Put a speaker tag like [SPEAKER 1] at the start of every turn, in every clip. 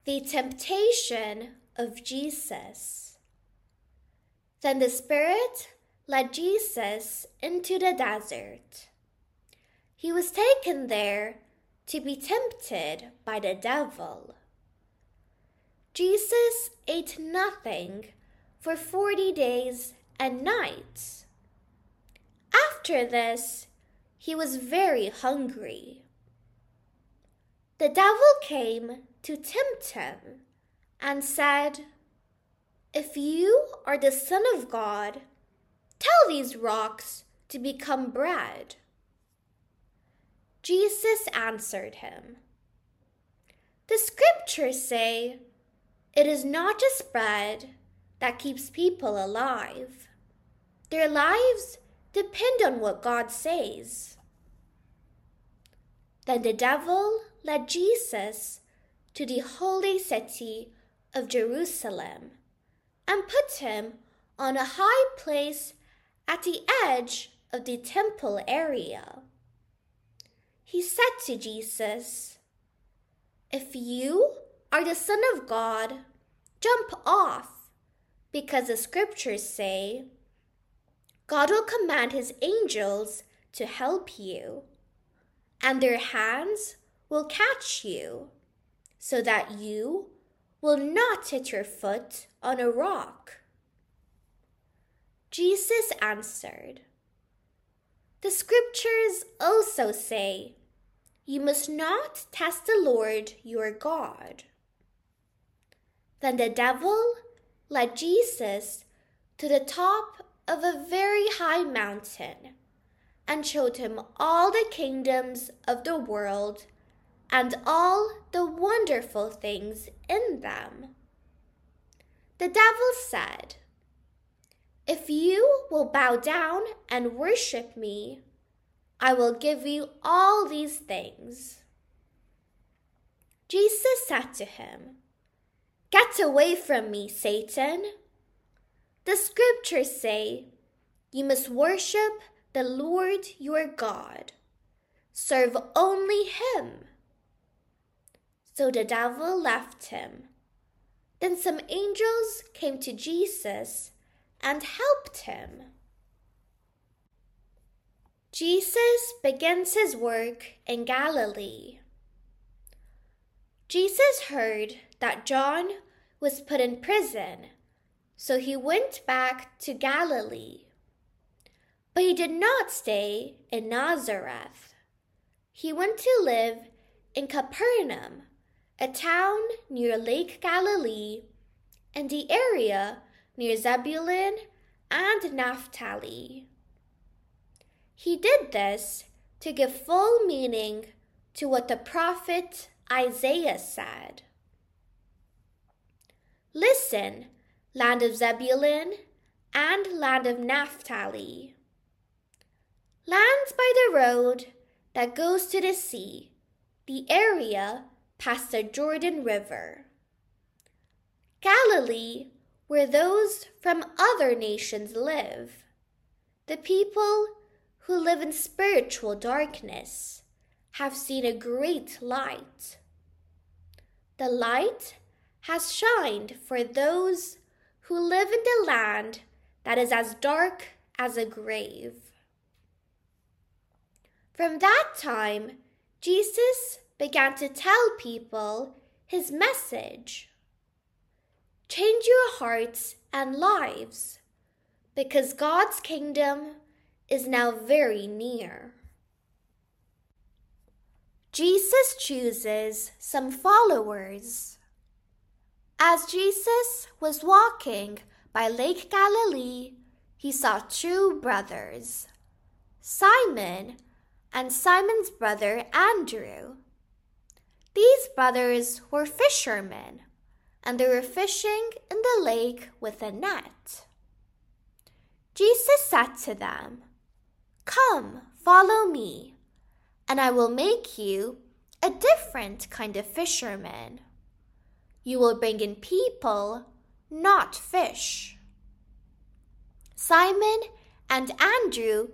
[SPEAKER 1] The temptation of Jesus. Then the Spirit led Jesus into the desert. He was taken there to be tempted by the devil. Jesus ate nothing for 40 days and nights. After this, he was very hungry. The devil came to tempt him and said, "If you are the Son of God, tell these rocks to become bread." Jesus answered him, "The scriptures say, 'It is not just bread that keeps people alive. Their lives depend on what God says.'" Then the devil led Jesus to the holy city of Jerusalem and put him on a high place at the edge of the temple area. He said to Jesus, "If you are the Son of God, jump off, because the scriptures say, 'God will command his angels to help you, and their hands will catch you, so that you will not hit your foot on a rock.'" Jesus answered, "The scriptures also say, 'You must not test the Lord your God.'" Then the devil led Jesus to the top of a very high mountain and showed him all the kingdoms of the world and all the wonderful things in them. The devil said, "If you will bow down and worship me, I will give you all these things." Jesus said to him, "Get away from me, Satan. The scriptures say, 'You must worship the Lord your God. Serve only him.'" So the devil left him. Then some angels came to Jesus and helped him. Jesus begins his work in Galilee. Jesus heard that John was put in prison, so he went back to Galilee. But he did not stay in Nazareth. He went to live in Capernaum, a town near Lake Galilee, and the area near Zebulun and Naphtali. He did this to give full meaning to what the prophet Isaiah said. "Listen, land of Zebulun and land of Naphtali, lands by the road that goes to the sea, the area past the Jordan River. Galilee, where those from other nations live, the people who live in spiritual darkness have seen a great light. The light has shined for those who live in the land that is as dark as a grave." From that time, Jesus began to tell people his message. Change your hearts and lives, because God's kingdom is now very near. Jesus chooses some followers. As Jesus was walking by Lake Galilee, he saw two brothers, Simon and Simon's brother Andrew. These brothers were fishermen, and they were fishing in the lake with a net. Jesus said to them, "Come, follow me, and I will make you a different kind of fisherman. You will bring in people, not fish." Simon and Andrew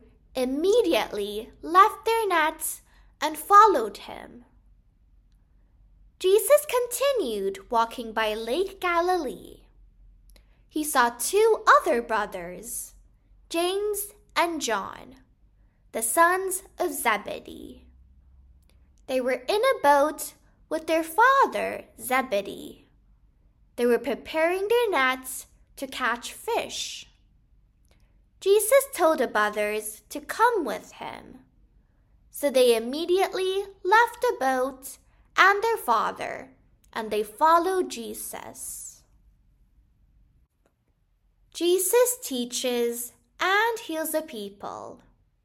[SPEAKER 1] immediately left their nets and followed him. Jesus continued walking by Lake Galilee. He saw two other brothers, James and John, the sons of Zebedee. They were in a boat with their father Zebedee. They were preparing their nets to catch fish. Jesus told the brothers to come with him. So they immediately left the boat and their father, and they followed Jesus. Jesus teaches and heals the people.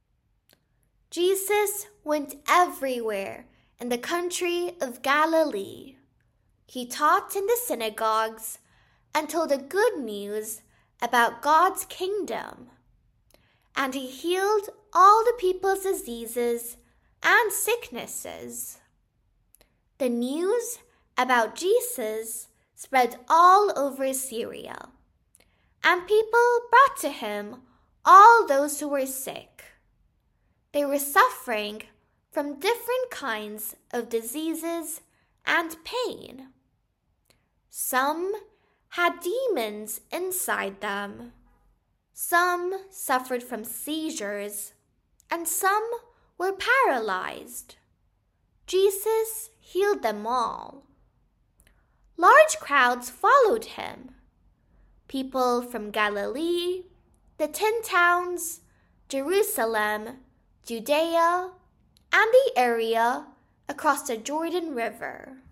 [SPEAKER 1] Jesus went everywhere in the country of Galilee. He taught in the synagogues and told the good news about God's kingdom. And he healed all the people's diseases and sicknesses. The news about Jesus spread all over Syria, and people brought to him all those who were sick. They were suffering from different kinds of diseases and pain. Some had demons inside them. Some suffered from seizures, and some were paralyzed. Jesus healed them all. Large crowds followed him. People from Galilee, the 10 towns, Jerusalem, Judea, and the area across the Jordan River.